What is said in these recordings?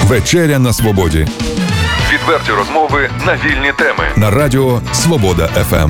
Вечеря на свободі. Відверті розмови на вільні теми. На радіо Свобода ФМ.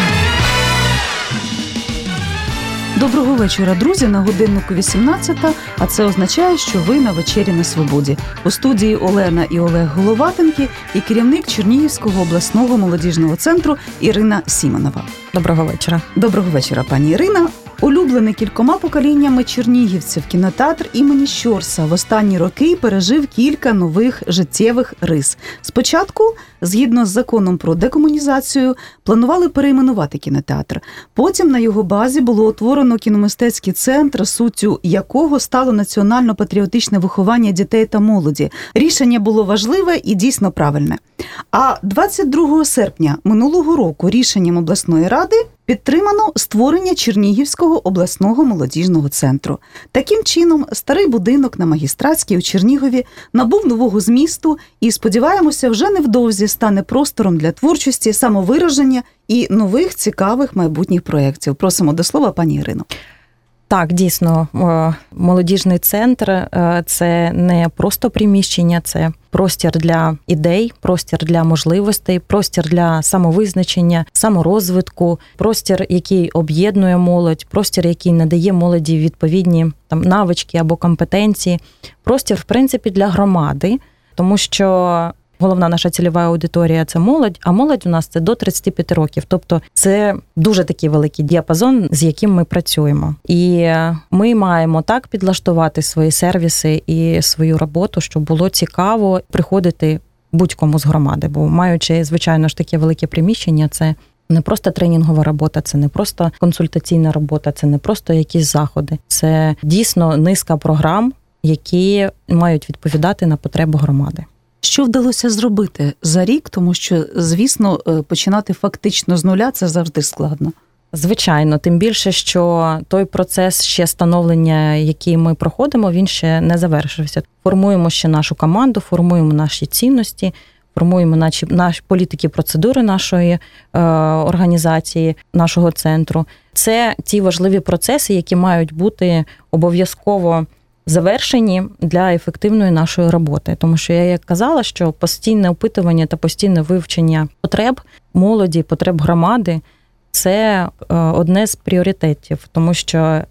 Доброго вечора, друзі. На годиннику 18-та, а це означає, що ви на вечері на свободі. У студії Олена і Олег Головатенки і керівник Чернігівського обласного молодіжного центру Ірина Сімонова. Доброго вечора. Доброго вечора, пані Ірина. Улюблений кількома поколіннями чернігівців кінотеатр імені Щорса в останні роки пережив кілька нових життєвих рис. Спочатку, згідно з законом про декомунізацію, планували перейменувати кінотеатр. Потім на його базі було утворено кіномистецький центр, суттю якого стало національно-патріотичне виховання дітей та молоді. Рішення було важливе і дійсно правильне. А 22 серпня минулого року рішенням обласної ради підтримано створення Чернігівського обласного молодіжного центру. Таким чином, старий будинок на Магістратській у Чернігові набув нового змісту і, сподіваємося, вже невдовзі стане простором для творчості, самовираження і нових цікавих майбутніх проєктів. Просимо до слова пані Ірину. Так, дійсно, молодіжний центр – це не просто приміщення, це простір для ідей, простір для можливостей, простір для самовизначення, саморозвитку, простір, який об'єднує молодь, простір, який надає молоді відповідні навички або компетенції, простір, в принципі, для громади, тому що головна наша цільова аудиторія – це молодь, а молодь у нас – це до 35 років. Тобто це дуже такий великий діапазон, з яким ми працюємо. І ми маємо так підлаштувати свої сервіси і свою роботу, щоб було цікаво приходити будь-кому з громади. Бо маючи, звичайно ж, таке велике приміщення, це не просто тренінгова робота, це не просто консультаційна робота, це не просто якісь заходи. Це дійсно низка програм, які мають відповідати на потреби громади. Що вдалося зробити за рік? Тому що, звісно, починати фактично з нуля – це завжди складно. Звичайно, тим більше, що той процес ще становлення, який ми проходимо, він ще не завершився. Формуємо ще нашу команду, формуємо наші цінності, формуємо наші політики, процедури нашої організації, нашого центру. Це ті важливі процеси, які мають бути обов'язково завершені для ефективної нашої роботи. Тому що я як казала, що постійне опитування та постійне вивчення потреб молоді, потреб громади – це одне з пріоритетів. Тому що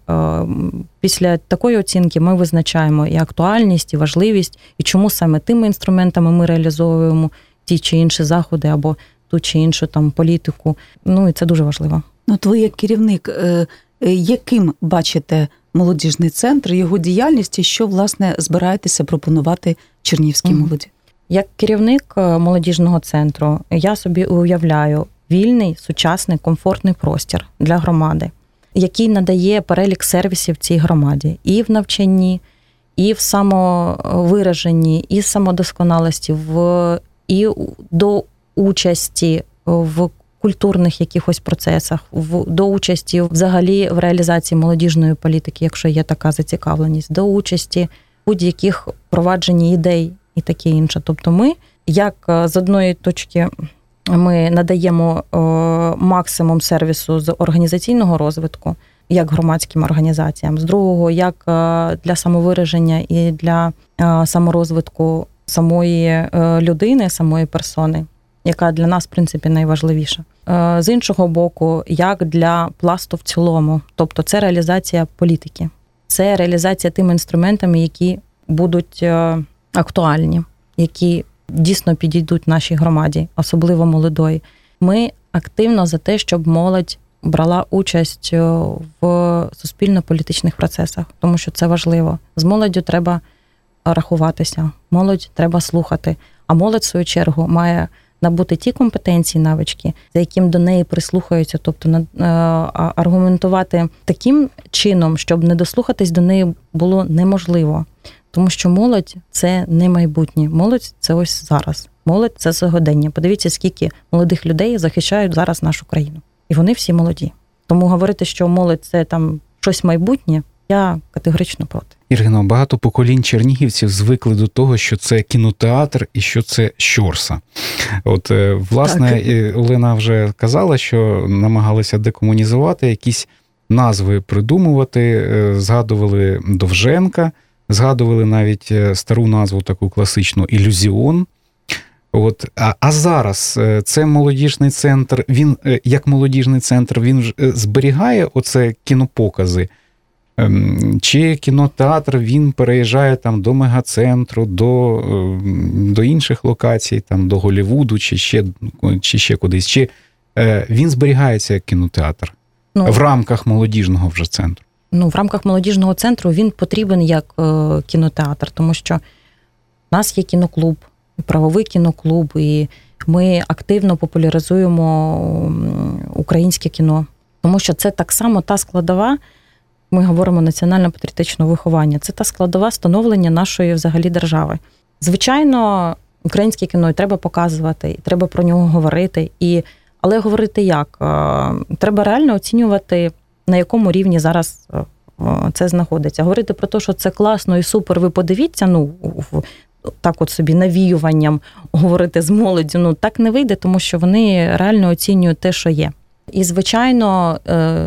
після такої оцінки ми визначаємо і актуальність, і важливість, і чому саме тими інструментами ми реалізовуємо ті чи інші заходи або ту чи іншу політику. І це дуже важливо. От ви як керівник, яким бачите молодіжний центр, його діяльність і що, власне, збираєтеся пропонувати чернігівській молоді? Як керівник молодіжного центру я собі уявляю вільний, сучасний, комфортний простір для громади, який надає перелік сервісів цій громаді і в навчанні, і в самовираженні, і в самодосконалості, і до участі в культурних якихось процесах, до участі взагалі в реалізації молодіжної політики, якщо є така зацікавленість, до участі в будь-яких впровадженні ідей і таке інше. Тобто ми, як з одної точки, ми надаємо максимум сервісу з організаційного розвитку, як громадським організаціям, з другого, як для самовираження і для саморозвитку самої людини, самої персони, яка для нас, в принципі, найважливіша. З іншого боку, як для пласту в цілому. Тобто це реалізація політики. Це реалізація тими інструментами, які будуть актуальні, які дійсно підійдуть нашій громаді, особливо молодої. Ми активно за те, щоб молодь брала участь в суспільно-політичних процесах, тому що це важливо. З молоддю треба рахуватися, молодь треба слухати, а молодь, в свою чергу, має набути ті компетенції, навички, за яким до неї прислухаються, тобто аргументувати таким чином, щоб не дослухатись до неї було неможливо. Тому що молодь – це не майбутнє, молодь – це ось зараз, молодь – це сьогодення. Подивіться, скільки молодих людей захищають зараз нашу країну. І вони всі молоді. Тому говорити, що молодь – це щось майбутнє, я категорично проти. Ірино, багато поколінь чернігівців звикли до того, що це кінотеатр і що це Щорса. От, власне, так. Олена вже казала, що намагалися декомунізувати, якісь назви придумувати, згадували Довженка, згадували навіть стару назву таку класичну «Ілюзіон». А зараз це молодіжний центр, він як молодіжний центр, він зберігає оце кінопокази? Чи кінотеатр, він переїжджає там до мегацентру, до інших локацій, там до Голлівуду, чи ще кудись? Чи він зберігається як кінотеатр в рамках молодіжного вже центру? В рамках молодіжного центру він потрібен як кінотеатр, тому що в нас є кіноклуб, правовий кіноклуб, і ми активно популяризуємо українське кіно. Тому що це так само та складова, ми говоримо національно-патріотичного виховання, це та складова становлення нашої взагалі держави. Звичайно, українське кіно і треба показувати, і треба про нього говорити. Але говорити як? Треба реально оцінювати, на якому рівні зараз це знаходиться. Говорити про те, що це класно і супер, ви подивіться, так от собі навіюванням говорити з молоддю, так не вийде, тому що вони реально оцінюють те, що є. І, звичайно,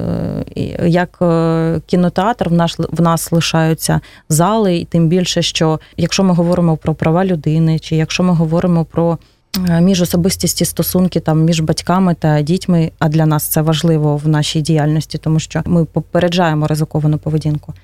як кінотеатр в нас лишаються зали, і тим більше, що якщо ми говоримо про права людини, чи якщо ми говоримо про міжособистісті стосунки там між батьками та дітьми, а для нас це важливо в нашій діяльності, тому що ми попереджаємо ризиковану поведінку.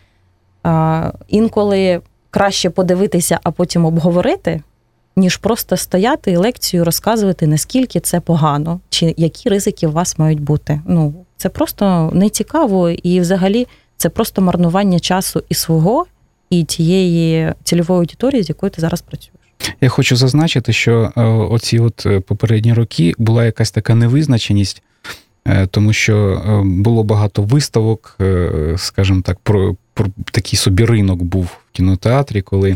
Інколи краще подивитися, а потім обговорити, ніж просто стояти і лекцію розказувати, наскільки це погано, чи які ризики у вас мають бути. Це просто нецікаво, і взагалі це просто марнування часу і свого, і тієї цільової аудиторії, з якою ти зараз працюєш. Я хочу зазначити, що оці попередні роки була якась така невизначеність, тому що було багато виставок, скажімо так, про такий собі ринок був в кінотеатрі, коли...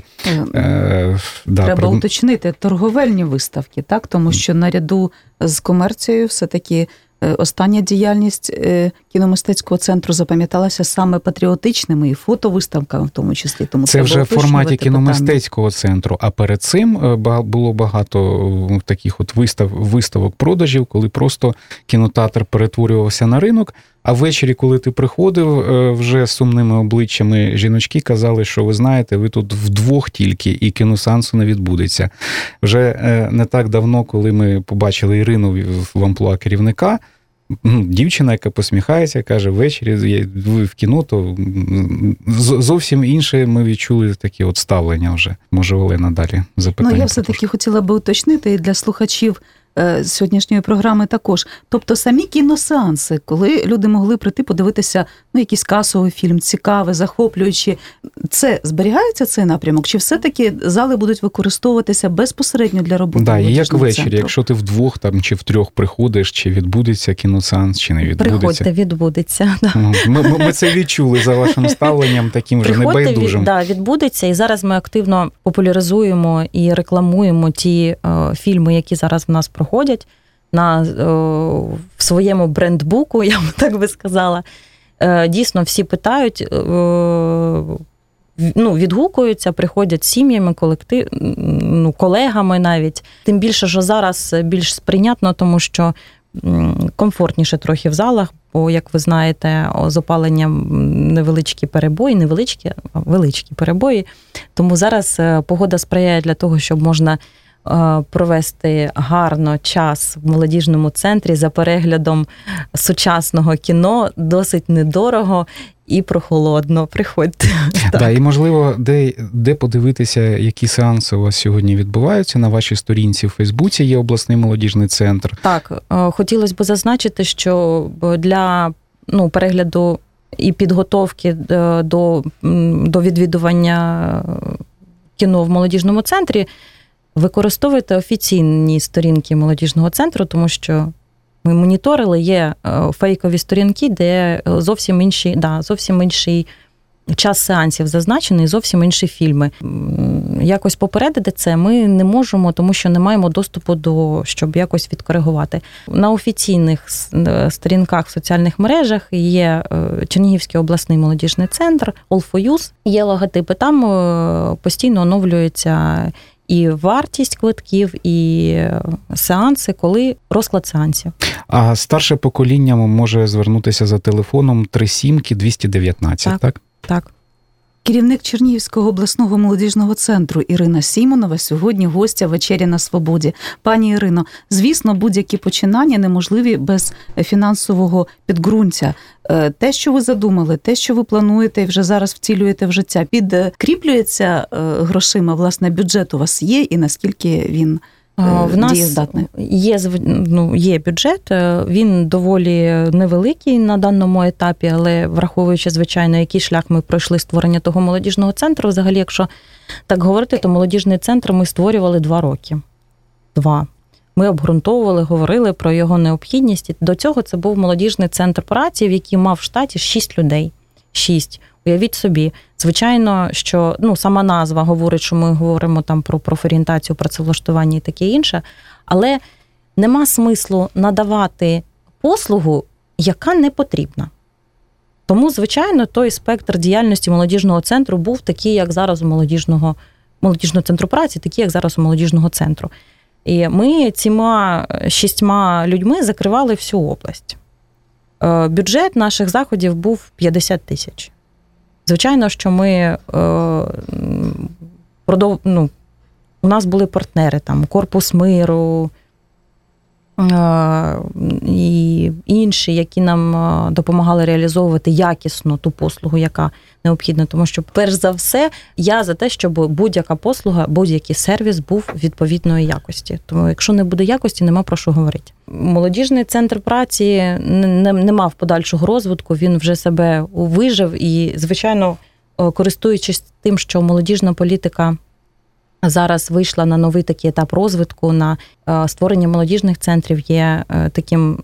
Треба уточнити, торговельні виставки, так? Тому що наряду з комерцією все-таки остання діяльність кіномистецького центру запам'яталася саме патріотичними і фотовиставками в тому числі. Тому це вже в форматі кіномистецького центру, а перед цим було багато таких виставок продажів, коли просто кінотеатр перетворювався на ринок, а ввечері, коли ти приходив, вже з сумними обличчями жіночки казали, що ви знаєте, ви тут вдвох тільки, і кіносеансу не відбудеться. Вже не так давно, коли ми побачили Ірину в амплуа керівника, дівчина, яка посміхається, каже, ввечері ви в кіно, то зовсім інше ми відчули такі ставлення вже. Може, Олена далі запитання. Я все-таки хотіла би уточнити і для слухачів сьогоднішньої програми також. Тобто самі кіносеанси, коли люди могли прийти подивитися якийсь касовий фільм, цікавий, захоплюючий, це зберігається цей напрямок? Чи все-таки зали будуть використовуватися безпосередньо для роботи? Так, і як ввечері, якщо ти вдвох чи втрьох приходиш, чи відбудеться кіносеанс, чи не відбудеться? Приходьте, відбудеться. Ми це відчули за вашим ставленням, таким вже небайдужим. Так, відбудеться. І зараз ми активно популяризуємо і рекламуємо ті фільми, які зараз в нас проходять в своєму брендбуку, я б так би сказала. Дійсно, всі питають, відгукуються, приходять сім'ями, колегами навіть. Тим більше, що зараз більш сприйнятно, тому що комфортніше трохи в залах, бо, як ви знаєте, з опаленням невеличкі перебої, величкі перебої. Тому зараз погода сприяє для того, щоб можна провести гарно час в молодіжному центрі за переглядом сучасного кіно, досить недорого і прохолодно. Приходьте. І, можливо, де подивитися, які сеанси у вас сьогодні відбуваються. На вашій сторінці в Фейсбуці є обласний молодіжний центр. Так, хотілося б зазначити, що для перегляду і підготовки до відвідування кіно в молодіжному центрі використовуйте офіційні сторінки молодіжного центру, тому що ми моніторили, є фейкові сторінки, де зовсім інший час сеансів зазначений, зовсім інші фільми. Якось попередити це ми не можемо, тому що не маємо доступу щоб якось відкоригувати. На офіційних сторінках в соціальних мережах є Чернігівський обласний молодіжний центр, All for Youth, є логотипи, там постійно оновлюється і вартість квитків, і сеанси, коли розклад сеансів. А старше покоління може звернутися за телефоном 37-219, так? Так. Керівник Чернігівського обласного молодіжного центру Ірина Сімонова сьогодні гостя «Вечері на свободі». Пані Ірино, звісно, будь-які починання неможливі без фінансового підґрунтя. Те, що ви задумали, те, що ви плануєте і вже зараз втілюєте в життя, підкріплюється грошима, власне, бюджет у вас є і наскільки він в нас дієздатний? Є бюджет, він доволі невеликий на даному етапі, але враховуючи, звичайно, який шлях ми пройшли створення того молодіжного центру, взагалі, якщо так говорити, то молодіжний центр ми створювали 2 роки. 2. Ми обґрунтовували, говорили про його необхідність. До цього це був молодіжний центр праці, в який мав в штаті 6 людей. 6. Уявіть собі, звичайно, що сама назва говорить, що ми говоримо там про профорієнтацію, працевлаштування і таке інше, але нема смислу надавати послугу, яка не потрібна. Тому, звичайно, той спектр діяльності молодіжного центру був такий, як зараз у молодіжного центру праці, такий, як зараз у молодіжного центру. І ми цими 6 людьми закривали всю область. Бюджет наших заходів був 50 тисяч. Звичайно, що ми у нас були партнери, там Корпус миру і інші, які нам допомагали реалізовувати якісно ту послугу, яка необхідна. Тому що, перш за все, я за те, щоб будь-яка послуга, будь-який сервіс був відповідної якості. Тому якщо не буде якості, нема про що говорити. Молодіжний центр праці не мав подальшого розвитку, він вже себе вижив і, звичайно, користуючись тим, що молодіжна політика зараз вийшла на новий такий етап розвитку, на створення молодіжних центрів є таким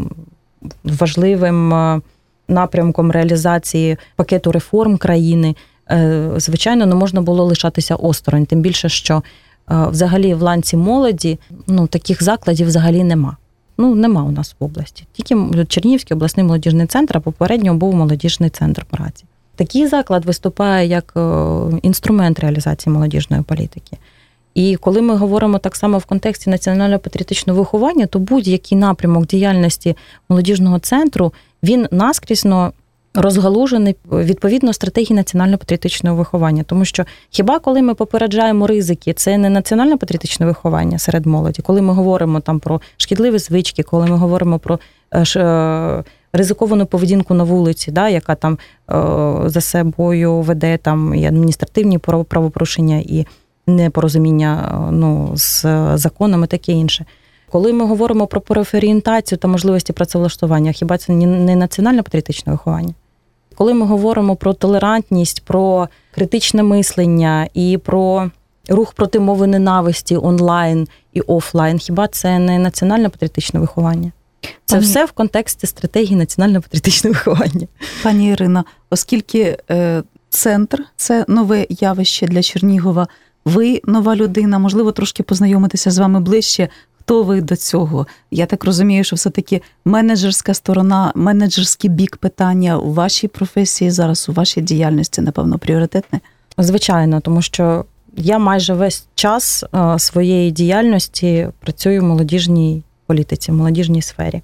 важливим напрямком реалізації пакету реформ країни. Звичайно, не можна було лишатися осторонь, тим більше, що взагалі в ланці молоді таких закладів взагалі нема. Нема у нас в області. Тільки Чернігівський обласний молодіжний центр, а попередньо був молодіжний центр праці. Такий заклад виступає як інструмент реалізації молодіжної політики. І коли ми говоримо так само в контексті національно-патріотичного виховання, то будь-який напрямок діяльності молодіжного центру, він наскрізно розгалужений відповідно стратегії національно-патріотичного виховання. Тому що хіба коли ми попереджаємо ризики, це не національно-патріотичне виховання серед молоді? Коли ми говоримо там про шкідливі звички, коли ми говоримо про ризиковану поведінку на вулиці, яка там за собою веде там і адміністративні правопорушення, і непорозуміння з законами, таке інше. Коли ми говоримо про профорієнтацію та можливості працевлаштування, хіба це не національно-патріотичне виховання? Коли ми говоримо про толерантність, про критичне мислення і про рух проти мови ненависті онлайн і офлайн, хіба це не національно-патріотичне виховання? Це все в контексті стратегії національно-патріотичного виховання. Пані Ірино, оскільки центр – це нове явище для Чернігова, ви нова людина, можливо, трошки познайомитися з вами ближче. Хто ви до цього? Я так розумію, що все-таки менеджерська сторона, менеджерський бік питання у вашій професії зараз, у вашій діяльності, напевно, пріоритетне? Звичайно, тому що я майже весь час своєї діяльності працюю в молодіжній політиці, в молодіжній сфері.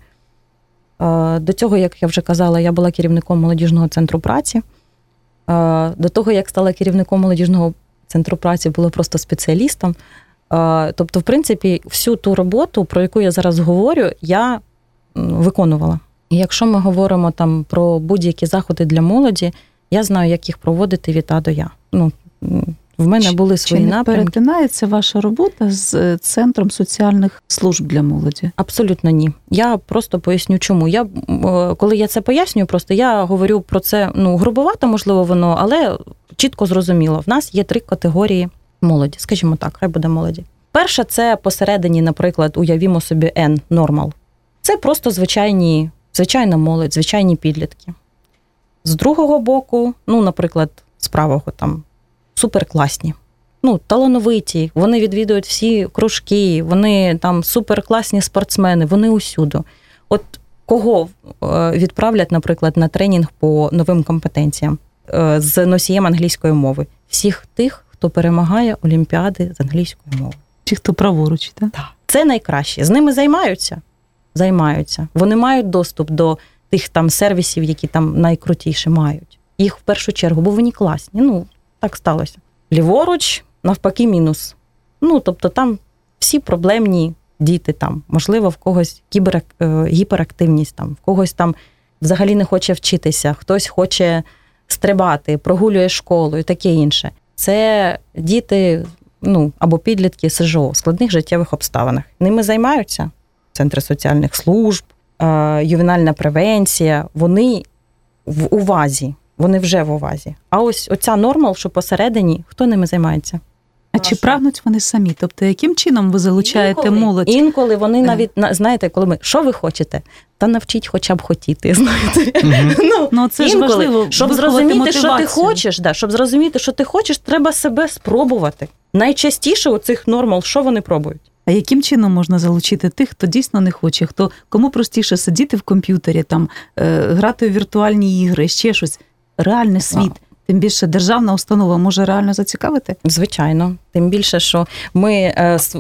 До цього, як я вже казала, я була керівником молодіжного центру праці. До того, як стала керівником молодіжного центру праці, була просто спеціалістом. Тобто, в принципі, всю ту роботу, про яку я зараз говорю, я виконувала. І якщо ми говоримо там про будь-які заходи для молоді, я знаю, як їх проводити від А до Я. В мене були свої напрямки. Чи не перетинається ваша робота з Центром соціальних служб для молоді? Абсолютно ні. Я просто поясню, чому. Коли я це пояснюю, просто я говорю про це, грубовато, можливо, воно, але чітко зрозуміло. В нас є 3 категорії молоді, скажімо так, хай буде молоді. Перша – це посередині, наприклад, уявімо собі N, нормал. Це просто звичайна молодь, звичайні підлітки. З другого боку, наприклад, з правого там, суперкласні, талановиті, вони відвідують всі кружки, вони там суперкласні спортсмени, вони усюди. От кого відправлять, наприклад, на тренінг по новим компетенціям з носієм англійської мови? Всіх тих, хто перемагає олімпіади з англійської мови. Чи хто праворуч, так? Так. Це найкраще. З ними займаються. Вони мають доступ до тих там сервісів, які там найкрутіші мають. їх в першу чергу, бо вони класні. Ну, так сталося. Ліворуч, навпаки, мінус. Ну, тобто там всі проблемні діти там. Можливо, в когось гіперактивність, там, в когось там взагалі не хоче вчитися, хтось хоче стрибати, прогулює школу і таке інше. Це діти, ну, або підлітки СЖО в складних життєвих обставинах. Ними займаються центри соціальних служб, ювенальна превенція. Вони в увазі, вони вже в увазі. А ось оця нормал, що посередині, хто ними займається? А чи прагнуть вони самі? Тобто, яким чином ви залучаєте молодь? Інколи вони навіть, знаєте, коли ми, що ви хочете? Та навчіть хоча б хотіти, знаєте. Ну, це ж важливо, щоб зрозуміти, що ти хочеш, щоб зрозуміти, що ти хочеш, треба себе спробувати. Найчастіше у цих нормал, що вони пробують? А яким чином можна залучити тих, хто дійсно не хоче, кому простіше сидіти в комп'ютері, там, грати у віртуальні ігри, ще щось? Реальний світ. Тим більше державна установа може реально зацікавити? Звичайно. Тим більше, що ми,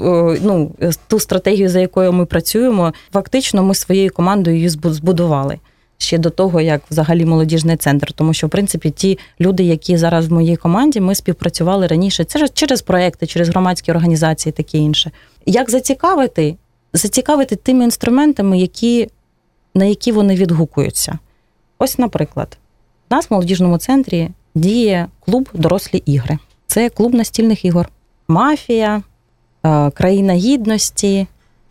ту стратегію, за якою ми працюємо, фактично ми своєю командою її збудували. Ще до того, як взагалі молодіжний центр. Тому що, в принципі, ті люди, які зараз в моїй команді, ми співпрацювали раніше через проекти, через громадські організації, таке інше. Як зацікавити? Зацікавити тими інструментами, на які вони відгукуються. Ось, наприклад, у нас в молодіжному центрі діє клуб «Дорослі ігри». Це клуб настільних ігор. Мафія, країна гідності,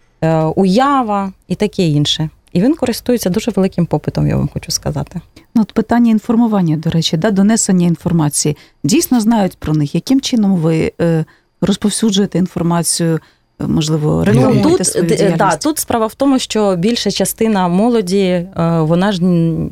уява і таке інше. І він користується дуже великим попитом, я вам хочу сказати. От питання інформування, до речі, донесення інформації. Дійсно знають про них? Яким чином ви розповсюджуєте інформацію, можливо, рекламуєте свою діяльність? Тут справа в тому, що більша частина молоді, вона ж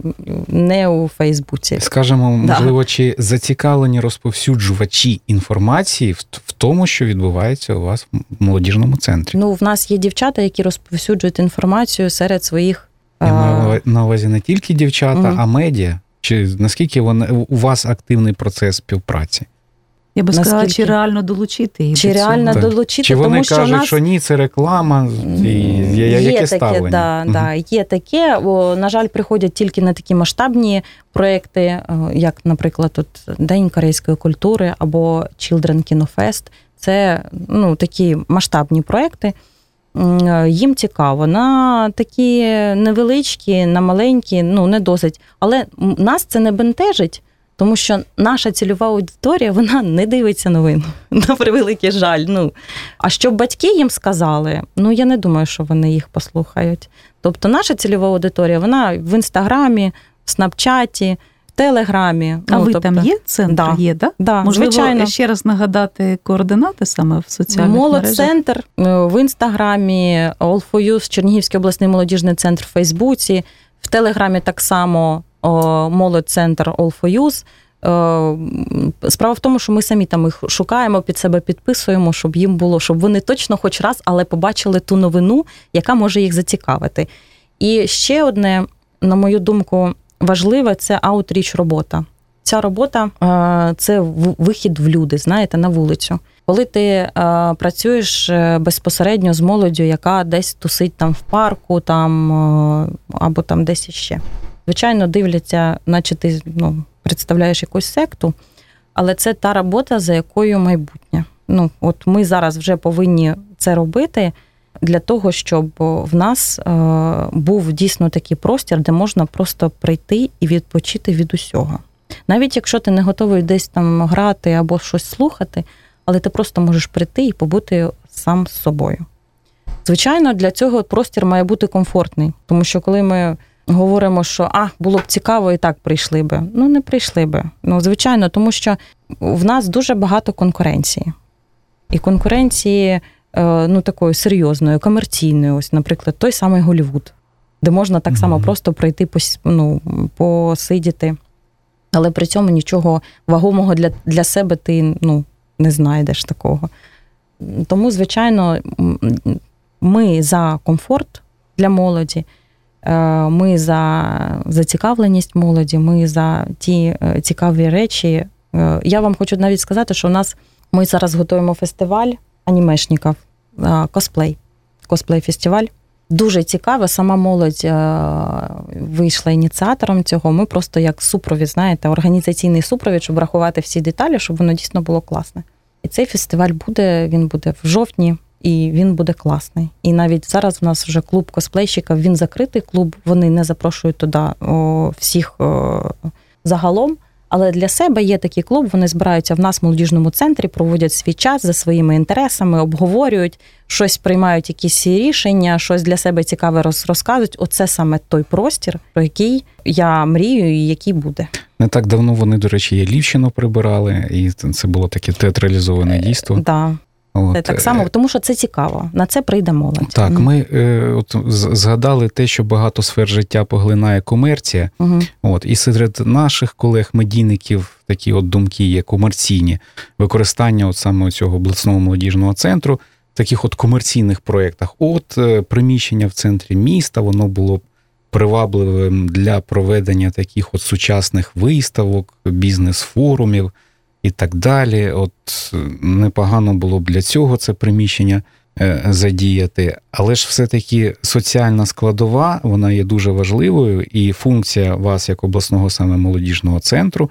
не у Фейсбуці. Скажемо, можливо, чи зацікавлені розповсюджувачі інформації в тому, що відбувається у вас в молодіжному центрі? Ну, в нас є дівчата, які розповсюджують інформацію серед своїх... Я маю на увазі не тільки дівчата, а медіа. Чи наскільки у вас активний процес співпраці? Я би сказала, чи реально долучити їх? Чи реально долучити, чи вони тому що кажуть, що ні, це реклама, яке ставлення? Є таке. На жаль, приходять тільки на такі масштабні проекти, як, наприклад, День корейської культури або Children Kino Fest. Це такі масштабні проекти. Їм цікаво. На такі невеличкі, на маленькі, не досить. Але нас це не бентежить, тому що наша цільова аудиторія, вона не дивиться новин, на превеликий жаль. А щоб батьки їм сказали, я не думаю, що вони їх послухають. Тобто наша цільова аудиторія, вона в Інстаграмі, в Снапчаті, в Телеграмі. А ви там є? Центр є, так? Да, можливо, звичайно. Ще раз нагадати координати саме в соціальних мережах? Молодцентр в Інстаграмі, All4Youth, Чернігівський обласний молодіжний центр в Фейсбуці, в Телеграмі так само Молодцентр All4Youth. Справа в тому, що ми самі там їх шукаємо, під себе підписуємо, щоб їм було, щоб вони точно хоч раз, але побачили ту новину, яка може їх зацікавити. І ще одне, на мою думку, важливе – це аутріч робота. Ця робота – це вихід в люди, знаєте, на вулицю. Коли ти працюєш безпосередньо з молоддю, яка десь тусить там в парку, там, або там десь іще. Звичайно, дивляться, наче ти представляєш якусь секту, але це та робота, за якою майбутнє. От ми зараз вже повинні це робити для того, щоб в нас був дійсно такий простір, де можна просто прийти і відпочити від усього. Навіть якщо ти не готовий десь там грати або щось слухати, але ти просто можеш прийти і побути сам з собою. Звичайно, для цього простір має бути комфортний, тому що коли ми говоримо, що було б цікаво і так прийшли би. Не прийшли би. Звичайно, тому що в нас дуже багато конкуренції. І конкуренції такої серйозної, комерційної, ось, наприклад, той самий Голлівуд, де можна так само просто прийти, посидіти, але при цьому нічого вагомого для себе ти не знайдеш такого. Тому, звичайно, ми за комфорт для молоді, ми за зацікавленість молоді, ми за ті цікаві речі. Я вам хочу навіть сказати, що ми зараз готуємо фестиваль анімешників, косплей-фестиваль. Дуже цікаво, сама молодь вийшла ініціатором цього. Ми просто як супровід, знаєте, організаційний супровід, щоб врахувати всі деталі, щоб воно дійсно було класне. І цей фестиваль він буде в жовтні, і він буде класний. І навіть зараз в нас вже клуб косплейщиків, він закритий клуб, вони не запрошують туди всіх загалом. Але для себе є такий клуб, вони збираються в нас в молодіжному центрі, проводять свій час за своїми інтересами, обговорюють, щось приймають якісь рішення, щось для себе цікаве розказують. Оце саме той простір, про який я мрію і який буде. Не так давно вони, до речі, є Львівщину прибирали, і це було таке театралізоване дійство. Так. Це так само, тому що це цікаво. На це прийде молодь. Так, ми згадали те, що багато сфер життя поглинає комерція. І серед наших колег-медійників такі думки є комерційні. Використання саме цього обласного молодіжного центру в таких комерційних проєктах. Приміщення в центрі міста, воно було привабливим для проведення таких сучасних виставок, бізнес-форумів і так далі. Непогано було б для цього це приміщення задіяти. Але ж все-таки соціальна складова, вона є дуже важливою, і функція вас, як обласного саме молодіжного центру,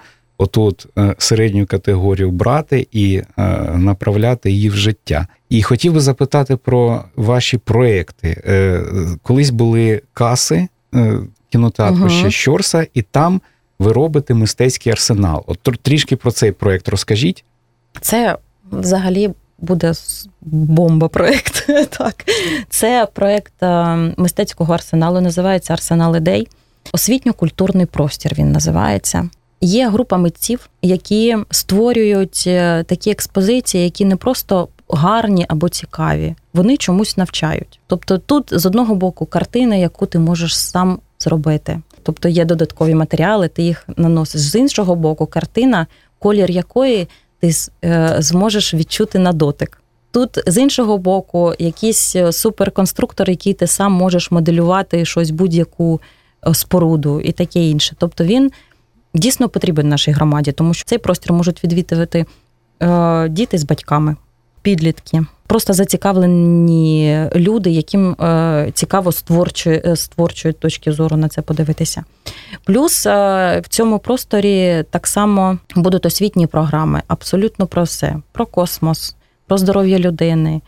середню категорію брати і направляти її в життя. І хотів би запитати про ваші проекти. Колись були каси кінотеатру ще Щорса, і там ви робите мистецький арсенал. Трішки про цей проєкт розкажіть. Це взагалі буде бомба-проєкт. Так. Це проєкт мистецького арсеналу, називається «Арсенал ідей». Освітньо-культурний простір він називається. Є група митців, які створюють такі експозиції, які не просто гарні або цікаві, вони чомусь навчають. Тобто тут, з одного боку, картина, яку ти можеш сам зробити. Тобто є додаткові матеріали, ти їх наносиш. З іншого боку, картина, колір якої ти зможеш відчути на дотик. Тут, з іншого боку, якийсь суперконструктор, який ти сам можеш моделювати щось, будь-яку споруду і таке інше. Тобто він дійсно потрібен нашій громаді, тому що цей простір можуть відвідувати діти з батьками, підлітки, просто зацікавлені люди, яким цікаво з творчої точки зору на це подивитися. Плюс в цьому просторі так само будуть освітні програми, абсолютно про все. Про космос, про здоров'я людини,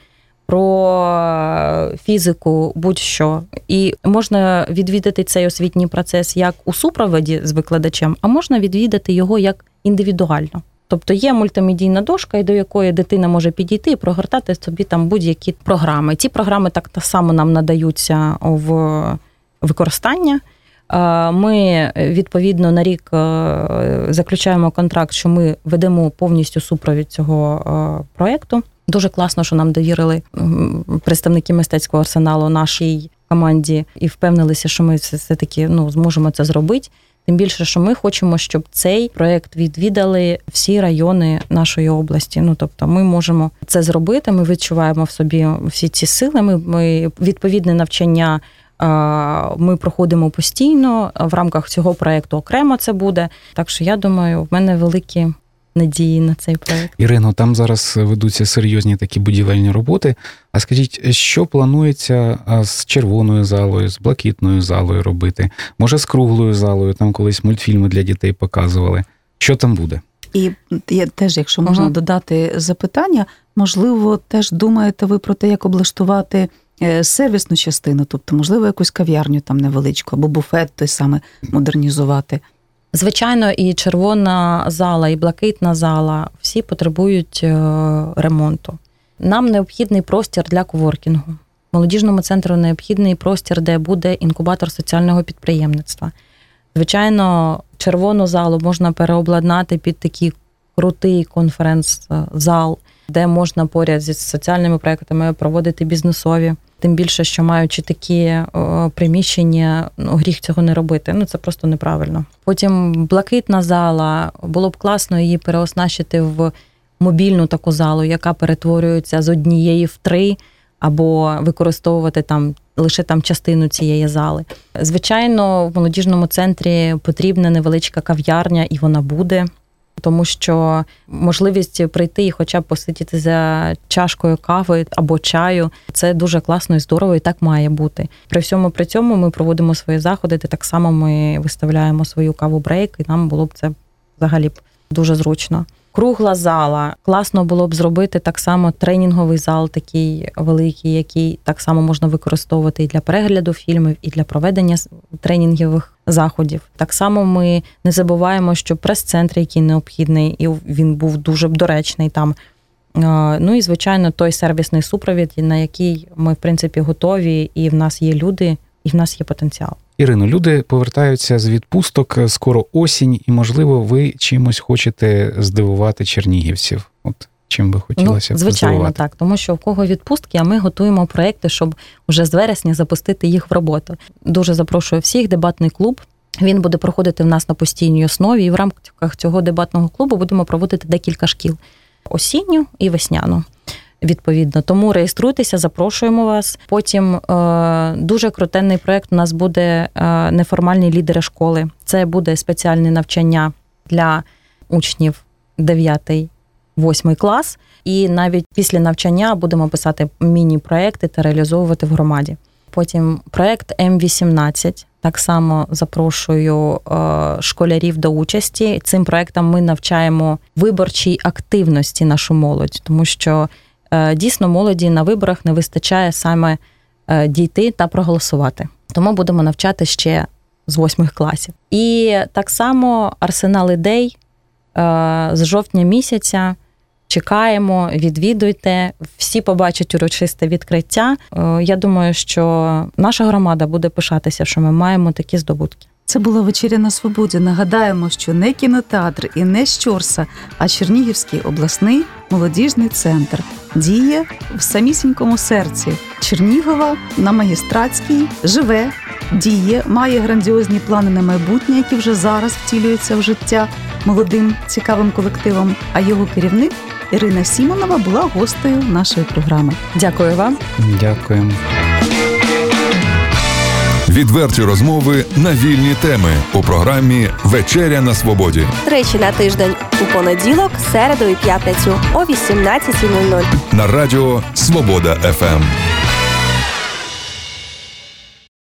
про фізику, будь-що. І можна відвідати цей освітній процес як у супроводі з викладачем, а можна відвідати його як індивідуально. Тобто є мультимедійна дошка, до якої дитина може підійти і прогортати собі там будь-які програми. Ці програми так само нам надаються в використання. Ми, відповідно, на рік заключаємо контракт, що ми ведемо повністю супровід цього проєкту. Дуже класно, що нам довірили представники мистецького арсеналу нашій команді і впевнилися, що ми все-таки зможемо це зробити. Тим більше, що ми хочемо, щоб цей проєкт відвідали всі райони нашої області. Тобто ми можемо це зробити, ми відчуваємо в собі всі ці сили, ми відповідне навчання ми проходимо постійно, в рамках цього проєкту окремо це буде. Так що, я думаю, в мене великі надії на цей проєкт. Ірино, там зараз ведуться серйозні такі будівельні роботи. А скажіть, що планується з червоною залою, з блакитною залою робити? Може, з круглою залою? Там колись мультфільми для дітей показували. Що там буде? І теж, якщо можна додати запитання, можливо, теж думаєте ви про те, як облаштувати сервісну частину, тобто, можливо, якусь кав'ярню там невеличку, або буфет той саме модернізувати? Звичайно, і червона зала, і блакитна зала всі потребують ремонту. Нам необхідний простір для коворкінгу. Молодіжному центру необхідний простір, де буде інкубатор соціального підприємництва. Звичайно, червону залу можна переобладнати під такий крутий конференц-зал, де можна поряд зі соціальними проектами проводити бізнесові. Тим більше, що маючи такі приміщення, гріх цього не робити. Це просто неправильно. Потім блакитна зала, було б класно її переоснащити в мобільну таку залу, яка перетворюється з однієї в 3, або використовувати лише частину цієї зали. Звичайно, в молодіжному центрі потрібна невеличка кав'ярня, і вона буде. Тому що можливість прийти і хоча б посидіти за чашкою кави або чаю – це дуже класно і здорово, і так має бути. При цьому ми проводимо свої заходи, де так само ми виставляємо свою каву-брейк, і нам було б це взагалі б дуже зручно. Кругла зала. Класно було б зробити так само тренінговий зал такий великий, який так само можна використовувати і для перегляду фільмів, і для проведення тренінгових заходів. Так само ми не забуваємо, що прес-центр, який необхідний, і він був дуже доречний там. Ну і, звичайно, той сервісний супровід, на який ми, в принципі, готові, і в нас є люди, і в нас є потенціал. Ірино, люди повертаються з відпусток, скоро осінь, і, можливо, ви чимось хочете здивувати чернігівців. От чим би хотілося звичайно, здивувати? так. Тому що в кого відпустки, а ми готуємо проекти, щоб вже з вересня запустити їх в роботу. Дуже запрошую всіх, дебатний клуб. Він буде проходити в нас на постійній основі, і в рамках цього дебатного клубу будемо проводити декілька шкіл. Осінню і весняну. Відповідно. Тому реєструйтеся, запрошуємо вас. Потім дуже крутенний проєкт у нас буде неформальні лідери школи. Це буде спеціальне навчання для учнів 9-8 клас. І навіть після навчання будемо писати міні-проєкти та реалізовувати в громаді. Потім проєкт М18. Так само запрошую школярів до участі. Цим проєктом ми навчаємо виборчій активності нашу молодь, тому що дійсно молоді на виборах не вистачає саме дійти та проголосувати. Тому будемо навчати ще з 8 класів. І так само арсенал ідей з жовтня місяця. Чекаємо, відвідуйте, всі побачать урочисте відкриття. Я думаю, що наша громада буде пишатися, що ми маємо такі здобутки. Це була «Вечеря на свободі». Нагадаємо, що не кінотеатр і не Щорса, а Чернігівський обласний молодіжний центр діє в самісінькому серці Чернігова на Магістратській, живе, діє, має грандіозні плани на майбутнє, які вже зараз втілюються в життя молодим цікавим колективом, а його керівник Ірина Сімонова була гостею нашої програми. Дякую вам. Дякуємо. Відверті розмови на вільні теми у програмі «Вечеря на свободі». Тричі на тиждень у понеділок, середу і п'ятницю о 18:00. На радіо «Свобода ФМ».